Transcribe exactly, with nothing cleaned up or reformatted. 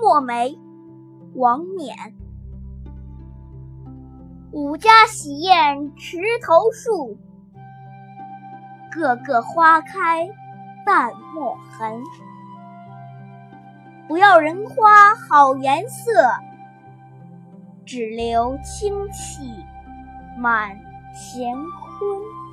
墨梅，王冕。五家喜宴池头树，个个花开淡墨痕。不要人花好颜色，只留清气满乾坤。